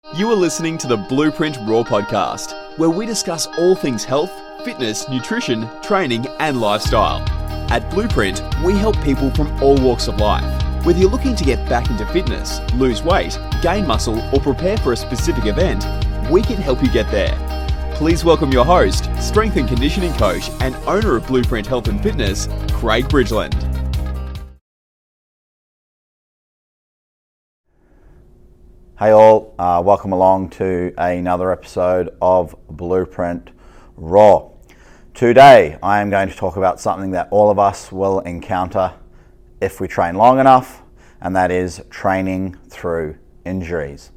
You are listening to the Blueprint Raw podcast, where we discuss all things health, fitness, nutrition, training, and lifestyle. At Blueprint, we help people from all walks of life. Whether you're looking to get back into fitness, lose weight, gain muscle, or prepare for a specific event, we can help you get there. Please welcome your host, strength and conditioning coach, and owner of Blueprint Health and Fitness, Craig Bridgeland. Hey all, welcome along to another episode of Blueprint Raw. Today I am going to talk about something that all of us will encounter if we train long enough, and that is training through injuries.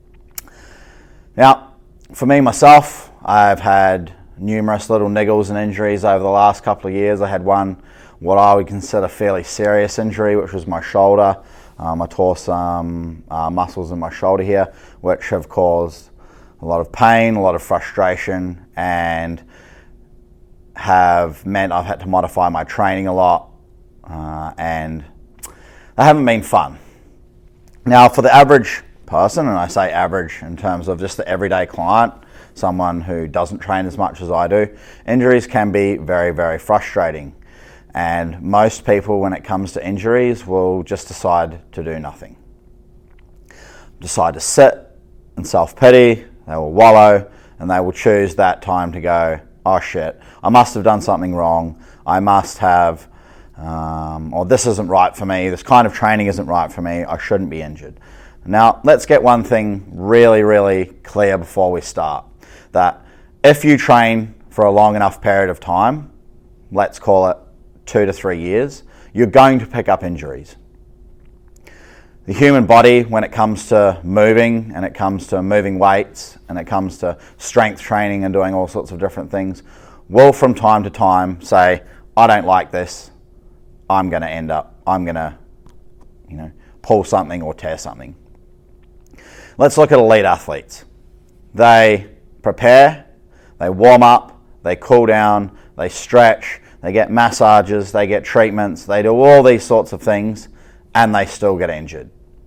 Now, for me myself, I've had numerous little niggles and injuries over the last couple of years. I had one, what I would consider fairly serious injury, which was my shoulder. I tore some muscles in my shoulder here, which have caused a lot of pain, a lot of frustration, and have meant I've had to modify my training a lot, and they haven't been fun. Now, for the average person, and I say average in terms of just the everyday client, someone who doesn't train as much as I do, injuries can be very, very frustrating. And most people, when it comes to injuries, will just decide to do nothing. Decide to sit and self-pity, they will wallow, and they will choose that time to go, oh shit, I must have done something wrong, I must have, or this isn't right for me, this kind of training isn't right for me, I shouldn't be injured. Now, let's get one thing really, really clear before we start. That if you train for a long enough period of time, let's call it 2 to 3 years, you're going to pick up injuries. The human body, when it comes to moving, and it comes to moving weights, and it comes to strength training and doing all sorts of different things, will from time to time say, I don't like this, I'm going to pull something or tear something. Let's look at elite athletes. They prepare, they warm up, they cool down, they stretch, they get massages, they get treatments, they do all these sorts of things, and they still get injured.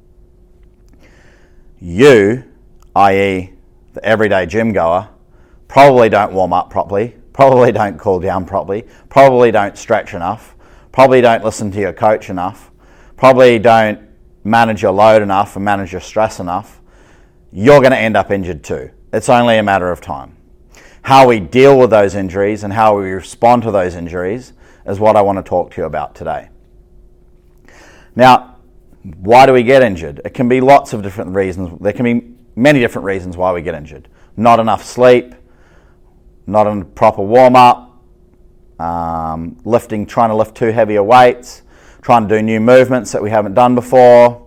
You, i.e. the everyday gym goer, probably don't warm up properly, probably don't cool down properly, probably don't stretch enough, probably don't listen to your coach enough, probably don't manage your load enough and manage your stress enough. You're going to end up injured too. It's only a matter of time. How we deal with those injuries and how we respond to those injuries is what I want to talk to you about today. Now, why do we get injured? It can be lots of different reasons. There can be many different reasons why we get injured. Not enough sleep, not a proper warm-up, trying to lift too heavy weights, trying to do new movements that we haven't done before,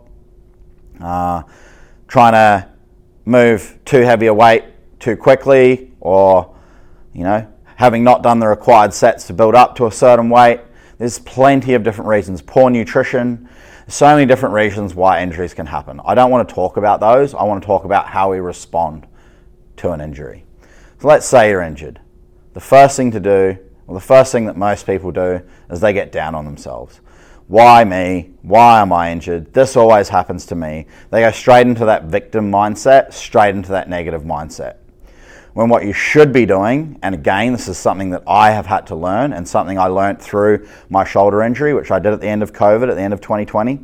trying to move too heavy a weight too quickly, or having not done the required sets to build up to a certain weight. There's plenty of different reasons. Poor nutrition. So many different reasons why injuries can happen. I don't want to talk about those. I want to talk about how we respond to an injury. So let's say you're injured. The first thing that most people do is they get down on themselves. Why me? Why am I injured? This always happens to me. They go straight into that victim mindset, straight into that negative mindset. When what you should be doing, and again, this is something that I have had to learn, and something I learned through my shoulder injury, which I did at the end of COVID, at the end of 2020,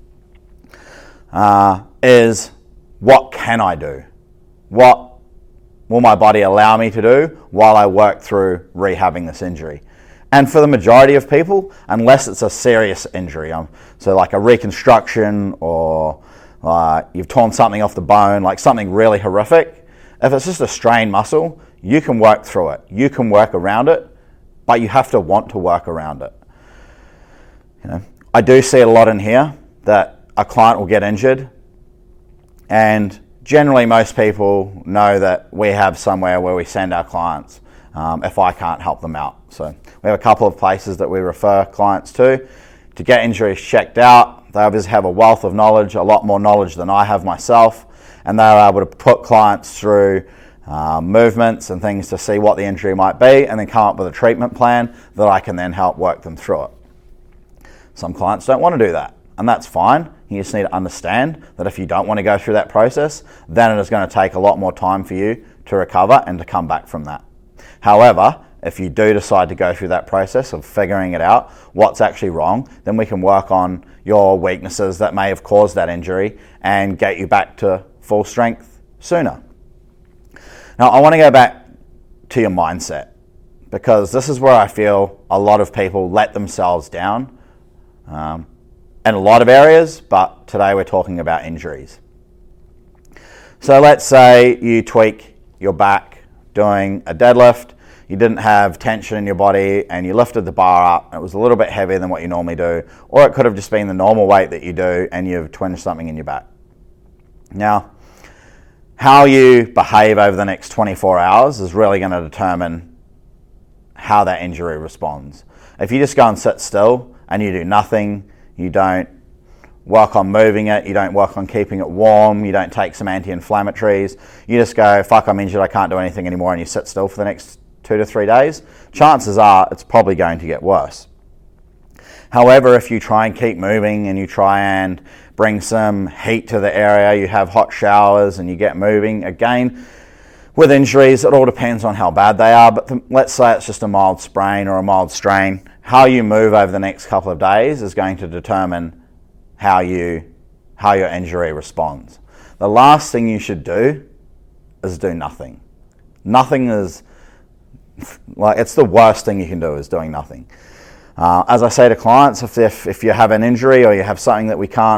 is what can I do? What will my body allow me to do while I work through rehabbing this injury? And for the majority of people, unless it's a serious injury, so like a reconstruction, or you've torn something off the bone, like something really horrific, if it's just a strained muscle, you can work through it. You can work around it, but you have to want to work around it. I do see a lot in here that a client will get injured, and generally most people know that we have somewhere where we send our clients if I can't help them out. So we have a couple of places that we refer clients to get injuries checked out. They obviously have a wealth of knowledge, a lot more knowledge than I have myself, and they're able to put clients through movements and things to see what the injury might be, and then come up with a treatment plan that I can then help work them through it. Some clients don't want to do that. and that's fine. You just need to understand that if you don't want to go through that process, then it is going to take a lot more time for you to recover and to come back from that. However, if you do decide to go through that process of figuring it out, what's actually wrong, then we can work on your weaknesses that may have caused that injury and get you back to full strength sooner. Now, I want to go back to your mindset, because this is where I feel a lot of people let themselves down in a lot of areas, but today we're talking about injuries. So let's say you tweak your back doing a deadlift, you didn't have tension in your body and you lifted the bar up, it was a little bit heavier than what you normally do, or it could have just been the normal weight that you do and you've twinged something in your back. Now, how you behave over the next 24 hours is really going to determine how that injury responds. If you just go and sit still and you do nothing, you don't work on moving it, you don't work on keeping it warm, you don't take some anti-inflammatories, you just go, fuck, I'm injured, I can't do anything anymore, and you sit still for the next 2 to 3 days, chances are it's probably going to get worse. However, if you try and keep moving and you try and bring some heat to the area, you have hot showers and you get moving, again, with injuries, it all depends on how bad they are, but let's say it's just a mild sprain or a mild strain, how you move over the next couple of days is going to determine how your injury responds. The last thing you should do is do nothing. Nothing is, it's the worst thing you can do is doing nothing. As I say to clients, if you have an injury or you have something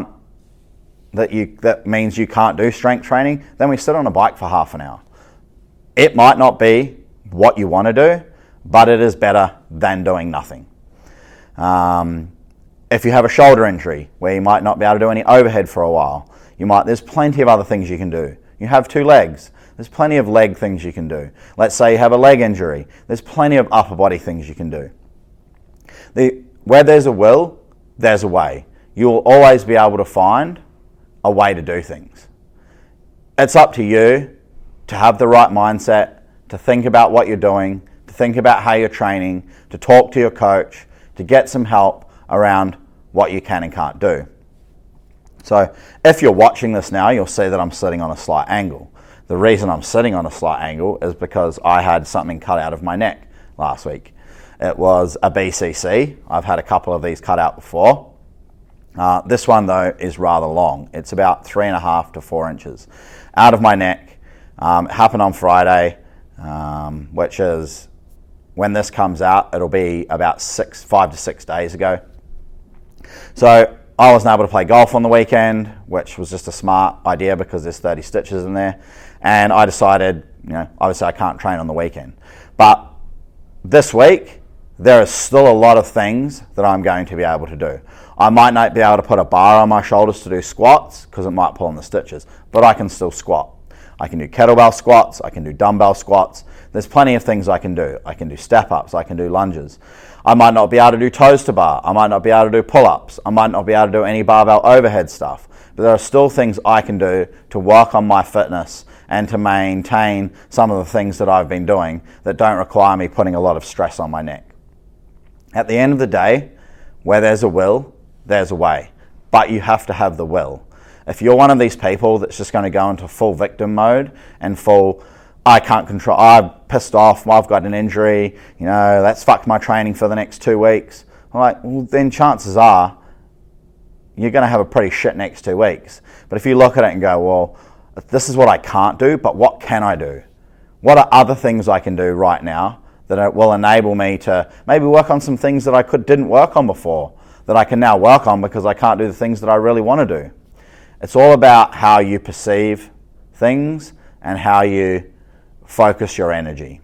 that means you can't do strength training, then we sit on a bike for half an hour. It might not be what you want to do, but it is better than doing nothing. If you have a shoulder injury where you might not be able to do any overhead for a while, there's plenty of other things you can do. You have 2 legs. There's plenty of leg things you can do. Let's say you have a leg injury. There's plenty of upper body things you can do. Where there's a will, there's a way. You'll always be able to find a way to do things. It's up to you to have the right mindset, to think about what you're doing, to think about how you're training, to talk to your coach, to get some help around what you can and can't do. So if you're watching this now, you'll see that I'm sitting on a slight angle. The reason I'm sitting on a slight angle is because I had something cut out of my neck last week. It was a BCC. I've had a couple of these cut out before. This one, though, is rather long. It's about 3.5 to 4 inches out of my neck. It happened on Friday, which is, when this comes out, it'll be about 5 to 6 days ago. So I wasn't able to play golf on the weekend, which was just a smart idea because there's 30 stitches in there. And I decided, obviously I can't train on the weekend. But this week, there is still a lot of things that I'm going to be able to do. I might not be able to put a bar on my shoulders to do squats because it might pull on the stitches, but I can still squat. I can do kettlebell squats, I can do dumbbell squats. There's plenty of things I can do. I can do step-ups, I can do lunges. I might not be able to do toes to bar. I might not be able to do pull-ups. I might not be able to do any barbell overhead stuff. But there are still things I can do to work on my fitness and to maintain some of the things that I've been doing that don't require me putting a lot of stress on my neck. At the end of the day, where there's a will, there's a way. But you have to have the will. If you're one of these people that's just going to go into full victim mode and full, I can't control, I'm pissed off, I've got an injury, that's fucked my training for the next 2 weeks. Then chances are you're going to have a pretty shit next 2 weeks. But if you look at it and go, well, this is what I can't do, but what can I do? What are other things I can do right now that will enable me to maybe work on some things that I didn't work on before, that I can now work on because I can't do the things that I really want to do? It's all about how you perceive things and how you focus your energy.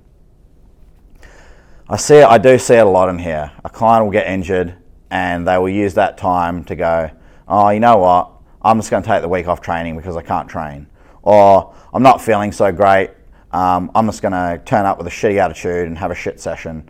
I do see it a lot in here. A client will get injured and they will use that time to go, oh, you know what, I'm just going to take the week off training because I can't train. Or I'm not feeling so great, I'm just going to turn up with a shitty attitude and have a shit session.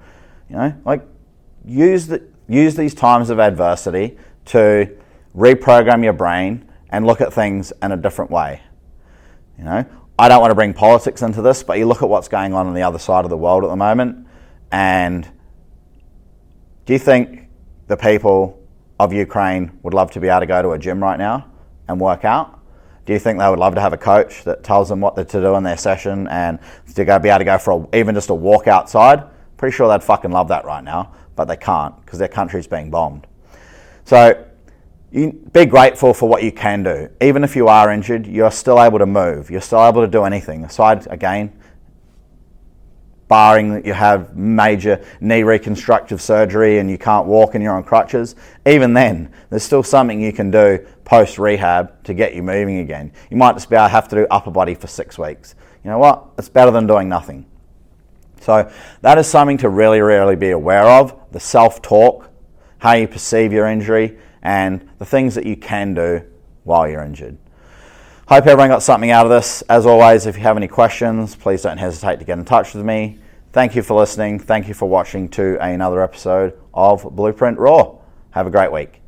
Use these times of adversity to reprogram your brain and look at things in a different way. I don't want to bring politics into this, but you look at what's going on the other side of the world at the moment, and do you think the people of Ukraine would love to be able to go to a gym right now and work out? Do you think they would love to have a coach that tells them what to do in their session and to be able to go for even just a walk outside? Pretty sure they'd fucking love that right now, but they can't because their country's being bombed. So you be grateful for what you can do. Even if you are injured, you're still able to move. You're still able to do anything. Aside, again, barring that you have major knee reconstructive surgery and you can't walk and you're on crutches, even then, there's still something you can do post-rehab to get you moving again. You might just have to do upper body for 6 weeks. You know what? It's better than doing nothing. So that is something to really, really be aware of. The self-talk, how you perceive your injury, and the things that you can do while you're injured. Hope everyone got something out of this. As always, if you have any questions, please don't hesitate to get in touch with me. Thank you for listening. Thank you for watching to another episode of Blueprint Raw. Have a great week.